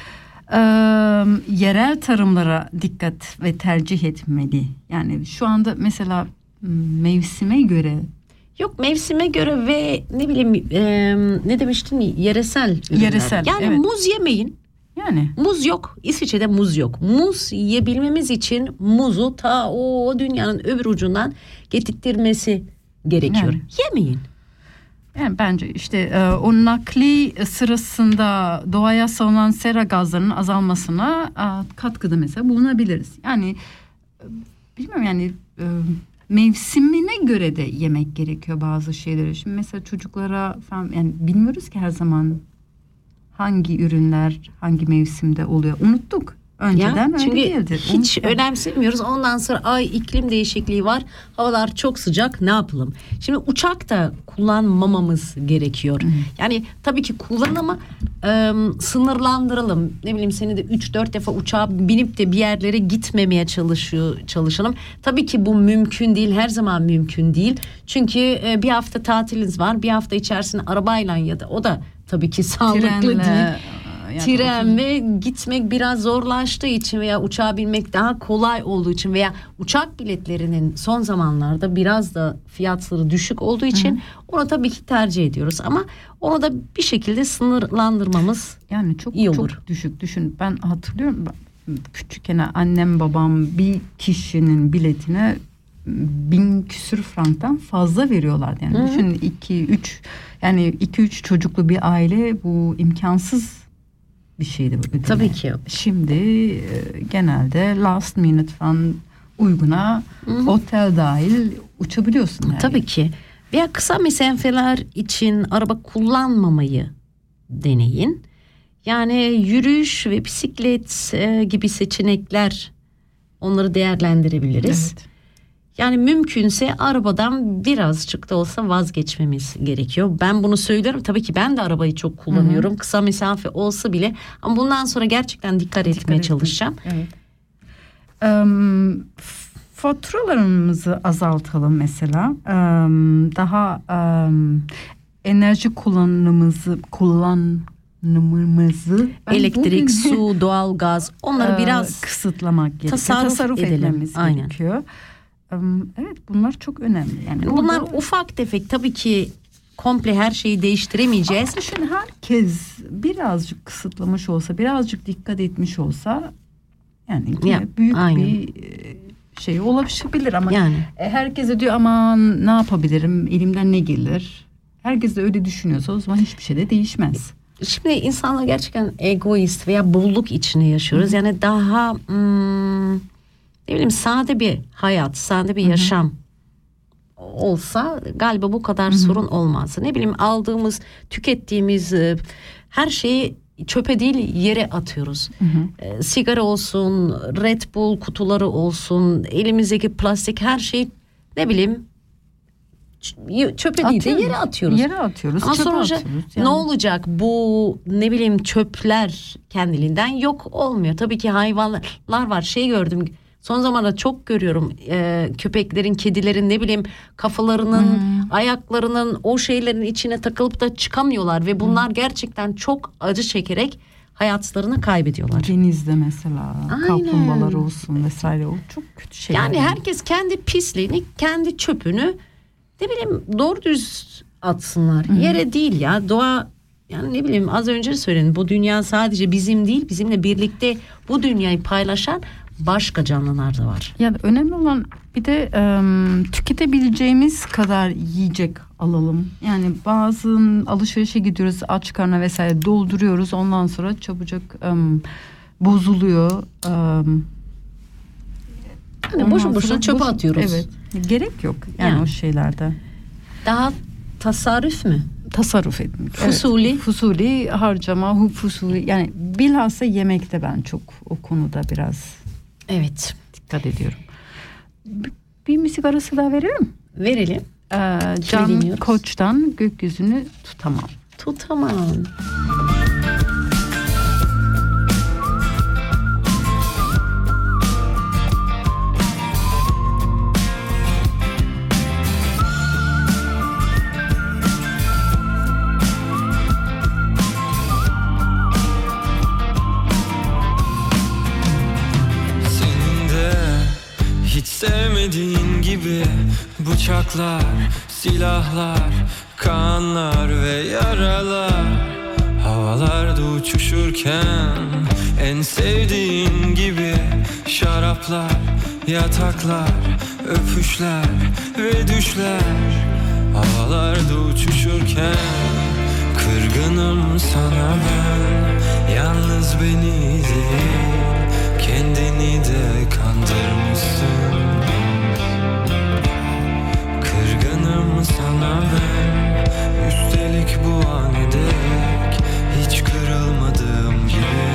yerel tarımlara dikkat ve tercih etmeli. Yani şu anda mesela mevsime göre. Yok mevsime göre ve ne bileyim ne demiştin yeresel ürünler. Yeresel. Yani evet. muz yemeyin. Yani. Muz yok. İsviçre'de muz yok. Muz yiyebilmemiz için muzu ta o dünyanın öbür ucundan getirtmesi gerekiyor. Yani. Yemeyin. Yani bence işte o nakli sırasında doğaya salınan sera gazlarının azalmasına katkıda mesela bulunabiliriz. Yani bilmiyorum yani mevsimine göre de yemek gerekiyor bazı şeyleri. Şimdi mesela çocuklara falan yani bilmiyoruz ki her zaman hangi ürünler hangi mevsimde oluyor. Unuttuk. Önceden öyle değildir. Hiç önemsemiyoruz. Ondan sonra iklim değişikliği var. Havalar çok sıcak. Ne yapalım? Şimdi uçak da kullanmamamız gerekiyor. Yani tabii ki kullanın ama sınırlandıralım. Ne bileyim senede 3-4 defa uçağa binip de bir yerlere gitmemeye çalışalım. Tabii ki bu mümkün değil. Her zaman mümkün değil. Çünkü bir hafta tatiliniz var. Bir hafta içerisinde arabayla ya da o da tabii ki sağlıklı değil. Yani tren ve gitmek biraz zorlaştığı için veya uçağa binmek daha kolay olduğu için veya uçak biletlerinin son zamanlarda biraz da fiyatları düşük olduğu için onu tabii ki tercih ediyoruz ama onu da bir şekilde sınırlandırmamız yani çok iyi olur. Çok düşük düşün. Ben hatırlıyorum küçükken annem babam bir kişinin biletine 1000 küsür franktan fazla veriyorlardı. Yani düşün 2-3 çocuklu bir aile bu imkansız bir şeydi bu. Tabii ki. Şimdi genelde last minute falan uyguna otel dahil uçabiliyorsun. Yani. Tabii ki. Veya kısa mesafeler için araba kullanmamayı deneyin. Yani yürüyüş ve bisiklet gibi seçenekler onları değerlendirebiliriz. Evet. Yani mümkünse arabadan birazcık da olsa vazgeçmemiz gerekiyor. Ben bunu söylüyorum. Tabii ki ben de arabayı çok kullanıyorum. Kısa mesafe olsa bile. Ama bundan sonra gerçekten dikkat etmeye çalışacağım. Evet. Faturalarımızı azaltalım mesela. Daha enerji kullanımımızı elektrik, su, doğal gaz onları biraz kısıtlamak gerekiyor. Tasarruf etmemiz gerekiyor. Evet bunlar çok önemli. Yani bunlar ufak tefek tabii ki komple her şeyi değiştiremeyeceğiz. Ama düşün herkes birazcık kısıtlamış olsa, birazcık dikkat etmiş olsa yani büyük bir şey olabilir ama yani. Herkes de diyor aman ne yapabilirim, elimden ne gelir? Herkes de öyle düşünüyorsa o zaman hiçbir şey de değişmez. Şimdi insanlar gerçekten egoist veya bolluk içinde yaşıyoruz. Yani daha ne bileyim sade bir hayat, sade bir yaşam olsa galiba bu kadar sorun olmaz. Ne bileyim aldığımız, tükettiğimiz her şeyi çöpe değil yere atıyoruz. Sigara olsun, Red Bull kutuları olsun, elimizdeki plastik her şey ne bileyim çöpe değil de yere atıyoruz. Yere atıyoruz. Ama sonuçta yani. ne olacak bu ne bileyim çöpler kendiliğinden yok olmuyor. Tabii ki hayvanlar var gördüm Son zamanlarda çok görüyorum köpeklerin, kedilerin ne bileyim kafalarının, ayaklarının o şeylerin içine takılıp da çıkamıyorlar ve bunlar gerçekten çok acı çekerek hayatlarını kaybediyorlar. Denizde mesela Aynen. kaplumbağalar olsun vesaire, o çok kötü şeyler. Yani herkes kendi pisliğini, kendi çöpünü ne bileyim doğru düz atsınlar. Yere değil ya, doğa. Yani ne bileyim az önce söyledim, bu dünya sadece bizim değil, bizimle birlikte bu dünyayı paylaşan başka canlılar da var. Yani önemli olan bir de tüketebileceğimiz kadar yiyecek alalım. Yani bazı alışverişe gidiyoruz, aç karnına vesaire dolduruyoruz, ondan sonra çabucak bozuluyor. Yani boşu boşuna çöpe atıyoruz. Evet, gerek yok yani o şeylerde. Daha tasarruf mü? Tasarruf edin. Fusuli. Evet, fusuli harcama, fusuli, yani bilhassa yemekte ben çok o konuda biraz dikkat ediyorum. Bir müzik arası daha verelim. Verelim. Can Koç'tan Gökyüzünü Tutamam. Tutamam. Sevmediğin gibi bıçaklar, silahlar, kanlar ve yaralar havalarda uçuşurken, en sevdiğin gibi şaraplar, yataklar, öpüşler ve düşler havalarda uçuşurken, kırgınım sana ben, yalnız beni değil kendini de kandırmışsın. Kırgınım sana ben, üstelik bu an dek hiç kırılmadığım gibi.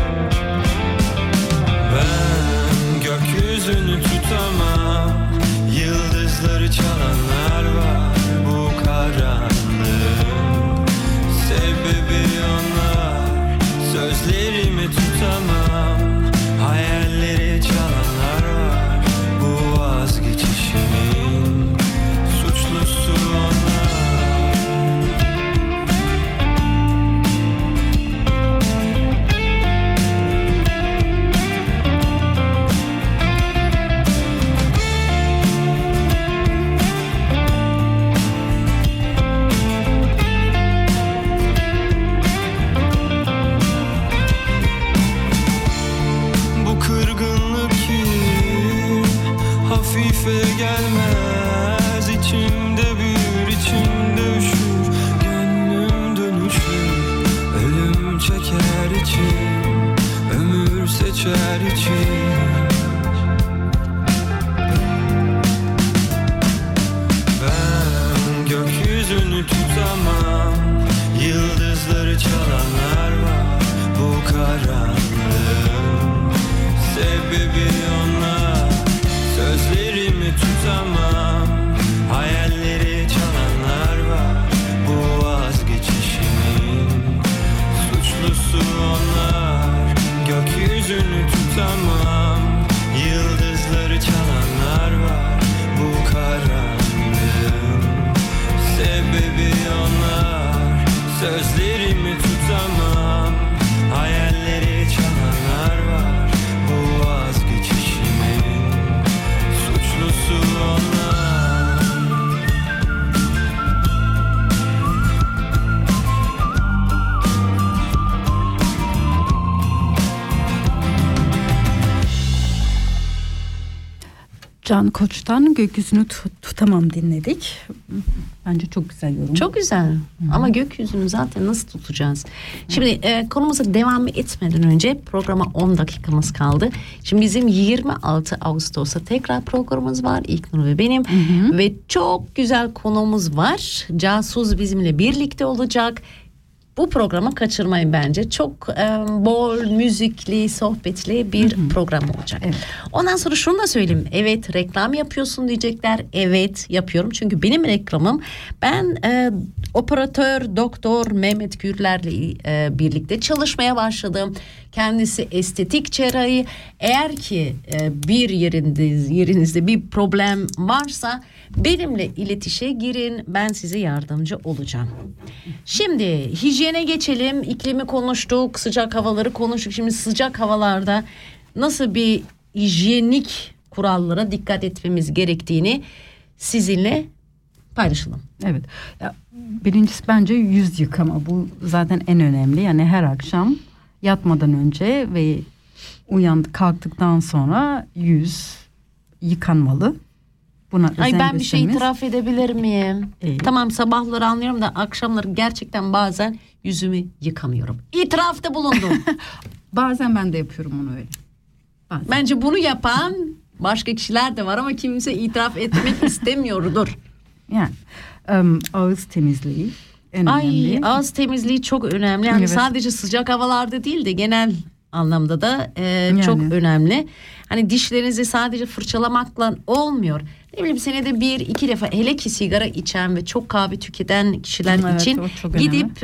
Ben gökyüzünü tutamam, yıldızları çalanlar var bu karanlığın. Sebebi onlar, sözlerimi tutamam, hayalleri çalanlar var bu vazgeçişimin suçlusu onlar. Hafife gelmez, içimde büyür, içimde üşür, gönlüm dönüşür, ölüm çeker içim, ömür seçer içim. Ben gökyüzünü tutamam, yıldızları çalanlar var bu karanlığın. Sebebi onlar, sözlerimi tutamam, hayalleri çalanlar var bu vazgeçişimin suçlusu onlar. Gökyüzünü tutamam, yıldızları çalanlar var bu karanlığın. Sebebi onlar, sözlerimi tutamam, hayalleri çalanlar var bu vazgeçişimin suçlusu onlar. Can Koç'tan Gökyüzünü Tutamam dinledik. Bence çok güzel yorum. Çok güzel. Ama gökyüzünü zaten nasıl tutacağız? Şimdi konumuza devam etmeden önce programa 10 dakikamız kaldı. Şimdi bizim 26 Ağustos'ta tekrar programımız var. İlknur ve benim. Ve çok güzel konuğumuz var. Casus bizimle birlikte olacak. Bu programı kaçırmayın bence. Çok bol müzikli, sohbetli bir program olacak. Evet. Ondan sonra şunu da söyleyeyim. Evet, reklam yapıyorsun diyecekler. Evet, yapıyorum. Çünkü benim reklamım, ben operatör Doktor Mehmet Gürler'le birlikte çalışmaya başladım. Kendisi estetik cerrahi. Eğer ki bir yerinizde bir problem varsa benimle iletişime girin. Ben size yardımcı olacağım. Şimdi hijyene geçelim. İklimi konuştuk, sıcak havaları konuştuk. Şimdi sıcak havalarda nasıl bir hijyenik kurallara dikkat etmemiz gerektiğini sizinle paylaşalım. Evet. Ya, birincisi bence yüz yıkama. Bu zaten en önemli. Yani her akşam yatmadan önce ve kalktıktan sonra yüz yıkanmalı. Buna Ay, ben bir şey göstermemiz- itiraf edebilir miyim? İyi. Tamam, sabahları anlıyorum da akşamları gerçekten bazen yüzümü yıkamıyorum. İtirafta bulundum. Bazen ben de yapıyorum onu öyle. Bazen. Bence bunu yapan başka kişiler de var ama kimse itiraf etmek istemiyordur. Yani ağız temizliği en Ay, önemli. ağız temizliği çok önemli. Yani Evet. sadece sıcak havalarda değil de genel anlamda da çok Yani. önemli. Hani dişlerinizi sadece fırçalamakla olmuyor. Ne bileyim, senede 1-2 defa, hele ki sigara içen ve çok kahve tüketen kişiler Evet, için o çok önemli. gidip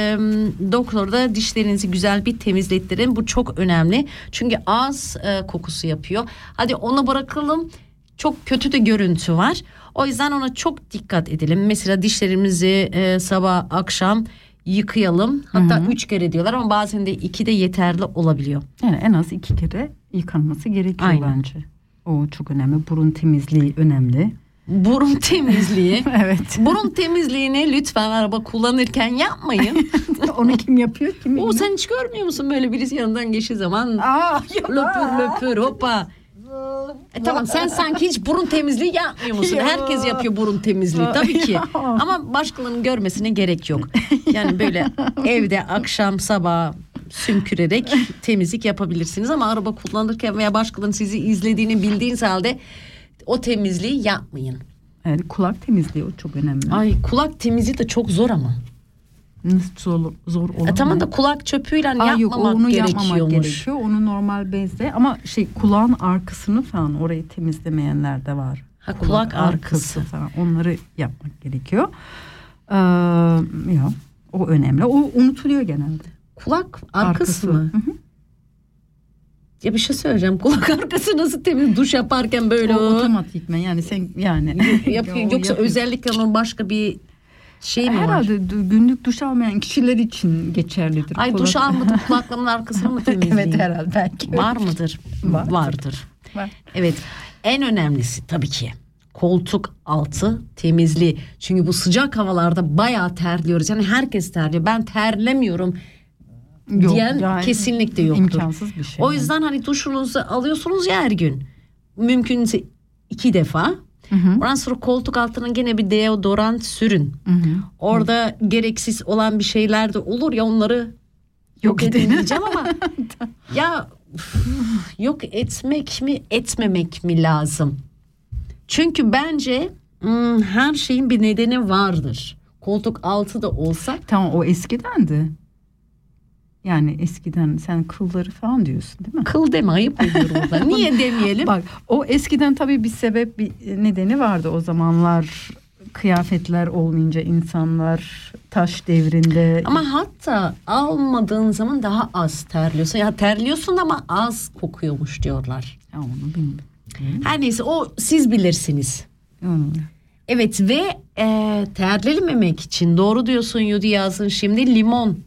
doktorda dişlerinizi güzel bir temizlettirin. Bu çok önemli. Çünkü ağız kokusu yapıyor. Hadi onu bırakalım. Çok kötü de görüntü var. O yüzden ona çok dikkat edelim. Mesela dişlerimizi sabah akşam yıkayalım. Hatta 3 kere diyorlar ama bazen de 2 de yeterli olabiliyor. Yani en az 2 kere yıkanması gerekiyor Aynen. bence. O çok önemli. Burun temizliği önemli. Burun temizliği. Evet. Burun temizliğini lütfen araba kullanırken yapmayın. Onu kim yapıyor? Kim O, sen hiç görmüyor musun böyle birisi yanından geçtiği zaman Aa, löpür löpür hoppa. Tamam, sen sanki hiç burun temizliği yapmıyor musun? Herkes yapıyor burun temizliği tabii ki. Ama başkalarının görmesine gerek yok. Yani böyle evde akşam sabah sümkürerek temizlik yapabilirsiniz ama araba kullanırken veya başkalarının sizi izlediğini bildiğiniz halde o temizliği yapmayın. Yani kulak temizliği o çok önemli. Ay, kulak temizliği de çok zor ama. Nasıl zor olur? Tamam da kulak çöpüyle yapmamak yok, onu yapmamak gerekiyormuş. gerekiyor. Onu normal bezle ama kulağın arkasını falan orayı temizlemeyenler de var. Ha, kulak arkası. falan onları yapmak gerekiyor. Ya, o önemli. O unutuluyor genelde. Kulak arkası mı? Hı hı. Ya bir şey söyleyeceğim. Kulak arkası nasıl temiz? Duş yaparken böyle O otomatikmen yani sen yani yapıyor. Yoksa özellikle onun başka bir şey mi var? herhalde günlük duş almayan kişiler için geçerlidir. Ay, duş almadım, kulaklarımın arkasını mı temizleyeyim? Evet, herhalde belki. Var mıdır? Vardır. Var. Evet. En önemlisi tabii ki koltuk altı temizliği. Çünkü bu sıcak havalarda bayağı terliyoruz. Yani herkes terliyor. Ben terlemiyorum diyen yani kesinlikle yoktur. İmkansız bir şey. O yüzden hani duşunuzu alıyorsunuz ya her gün. Mümkünse 2 defa. Ondan sonra koltuk altına gene bir deodorant sürün. Orada gereksiz olan bir şeyler de olur ya, onları yok edin diyeceğim ama ya yok etmek mi etmemek mi lazım? Çünkü bence her şeyin bir nedeni vardır. Koltuk altı da olsa. Tamam, o eskidendi. Yani eskiden sen kılları falan diyorsun değil mi? Kıl deme, ayıp ediyorum burada. Niye demeyelim? Bak, o eskiden tabii bir sebep, bir nedeni vardı o zamanlar. Kıyafetler olmayınca insanlar taş devrinde. Ama hatta almadığın zaman daha az terliyorsun. Ya terliyorsun ama az kokuyormuş diyorlar. Ya onu bilmiyorum. Her neyse, o siz bilirsiniz. Evet ve terlememek için doğru diyorsun Yudi Yazın, şimdi limon.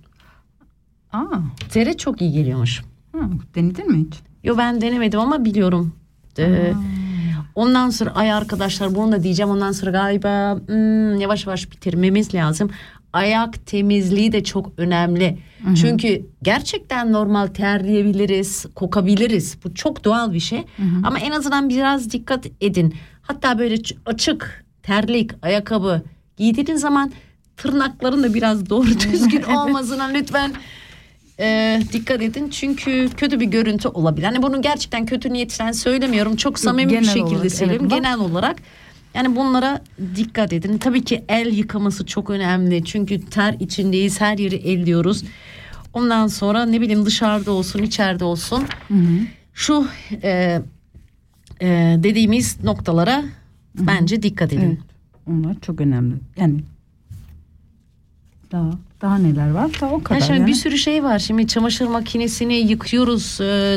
Tere çok iyi geliyormuş. Denedin mi hiç? Yo, ben denemedim ama biliyorum. Ondan sonra ay arkadaşlar, bunu da diyeceğim, ondan sonra galiba yavaş yavaş bitirmemiz lazım. Ayak temizliği de çok önemli. Çünkü gerçekten normal terleyebiliriz, kokabiliriz. Bu çok doğal bir şey. Ama en azından biraz dikkat edin. Hatta böyle açık terlik, ayakkabı giydiğin zaman tırnakların da biraz doğru düzgün olmasına lütfen dikkat edin. Çünkü kötü bir görüntü olabilir. Hani bunu gerçekten kötü niyetten söylemiyorum. Çok samimi bir şekilde söylüyorum. Evet, genel olarak Yani bunlara dikkat edin. Tabii ki el yıkaması çok önemli. Çünkü ter içindeyiz, her yeri elliyoruz. Ondan sonra ne bileyim dışarıda olsun, içeride olsun. Şu dediğimiz noktalara bence dikkat edin. Evet, onlar çok önemli. Yani daha neler var da o kadar. Şimdi bir sürü şey var. Şimdi çamaşır makinesini yıkıyoruz,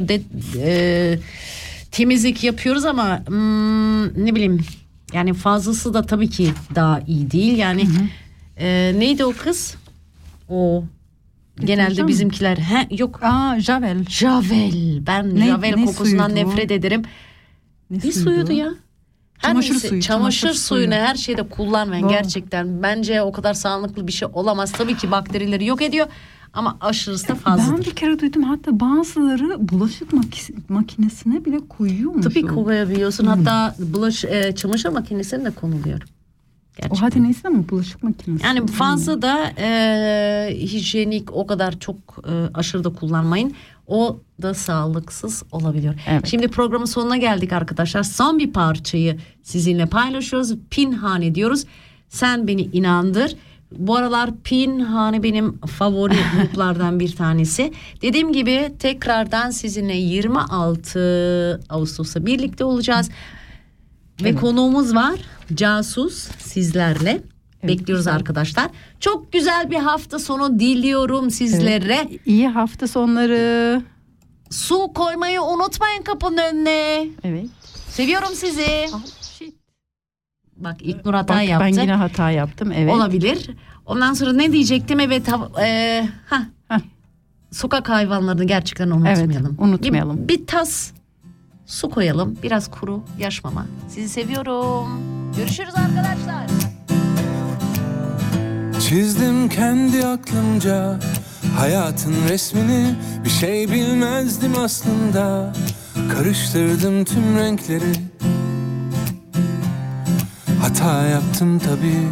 temizlik yapıyoruz ama ne bileyim yani fazlası da tabii ki daha iyi değil. Yani neydi o kız? O genelde bizimkiler yok. Javel. Javel. Ben Javel kokusundan nefret ederim. Ne suyuydu ya? Çamaşır suyunu her şeyde kullanmayın gerçekten. Bence o kadar sağlıklı bir şey olamaz. Tabii ki bakterileri yok ediyor ama aşırısı da fazladır. Ben bir kere duydum, hatta bazıları bulaşık makinesine bile koyuyormuş. Tabii koyabiliyorsun. Hatta çamaşır makinesine de konuluyor. Gerçekten. O hadi neyse ama bulaşık makinesi. Yani fazla da hijyenik o kadar çok aşırı da kullanmayın. O da sağlıksız olabiliyor. Evet. Şimdi programın sonuna geldik arkadaşlar. Son bir parçayı sizinle paylaşıyoruz. Pinhane diyoruz. Sen beni inandır. Bu aralar Pinhane benim favori gruplardan bir tanesi. Dediğim gibi tekrardan sizinle 26 Ağustos'ta birlikte olacağız. Ve konuğumuz var. Casus sizlerle. Bekliyoruz arkadaşlar. Çok güzel bir hafta sonu diliyorum sizlere. Evet. İyi hafta sonları. Su koymayı unutmayın kapının önüne. Evet. Seviyorum sizi. Bak İlknur hata yaptı. Ben yine hata yaptım. Evet. Olabilir. Ondan sonra ne diyecektim? Evet. Sokak hayvanlarını gerçekten unutmayalım. Evet, unutmayalım. Bir tas su koyalım. Biraz kuru yaş mama. Sizi seviyorum. Görüşürüz arkadaşlar. Çizdim kendi aklımca hayatın resmini, bir şey bilmezdim aslında. Karıştırdım tüm renkleri, hata yaptım tabii.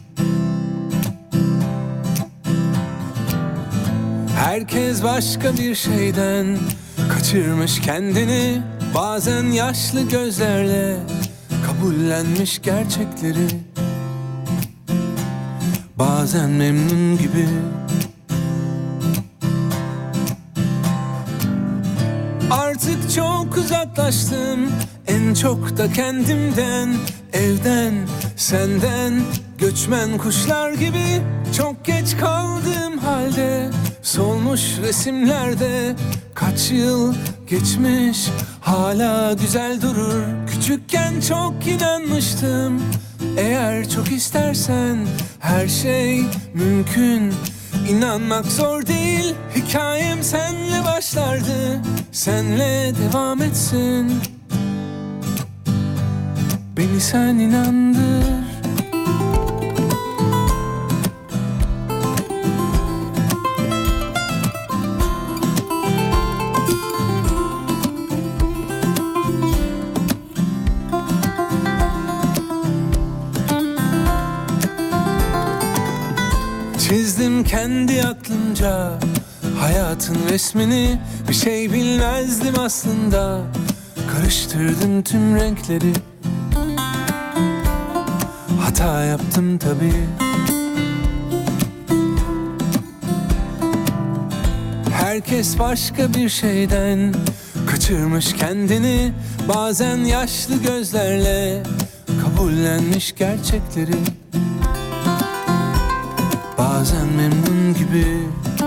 Herkes başka bir şeyden kaçırmış kendini, bazen yaşlı gözlerle kabullenmiş gerçekleri, bazen memnun gibi. Artık çok uzaklaştım, en çok da kendimden, evden, senden, göçmen kuşlar gibi. Çok geç kaldığım halde solmuş resimlerde, kaç yıl geçmiş hala güzel durur. Küçükken çok inanmıştım, eğer çok istersen her şey mümkün. İnanmak zor değil, hikayem senle başlardı, senle devam etsin. Beni sen inandır. Çizdim kendi aklımca hayatın resmini, bir şey bilmezdim aslında. Karıştırdım tüm renkleri, hata yaptım tabii. Herkes başka bir şeyden kaçırmış kendini, bazen yaşlı gözlerle kabullenmiş gerçekleri, bazen memnun gibi.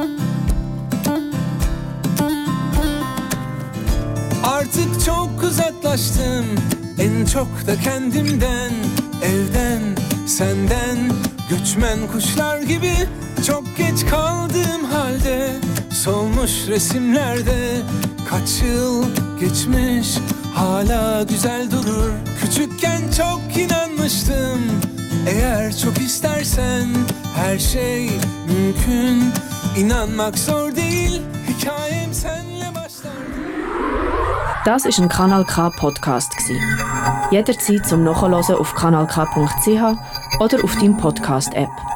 Artık çok uzaklaştım, en çok da kendimden, evden, senden, göçmen kuşlar gibi. Çok geç kaldığım halde solmuş resimlerde, kaç yıl geçmiş hala güzel durur. Küçükken çok inanmıştım, eğer çok istersen her şey mümkün. İnanmak zor değil, hikayem senle başlar. Das ist ein Kanal K Podcast gsi. Jederzeit zum Nachhören auf kanalk.ch oder auf deinem Podcast App.